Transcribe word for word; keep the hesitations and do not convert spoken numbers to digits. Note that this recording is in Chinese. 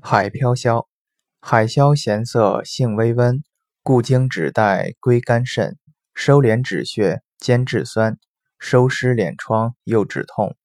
海飘消，海消咸涩，性微温，故经指代归肝肾，收敛止血，兼治酸，收湿敛疮，又止痛。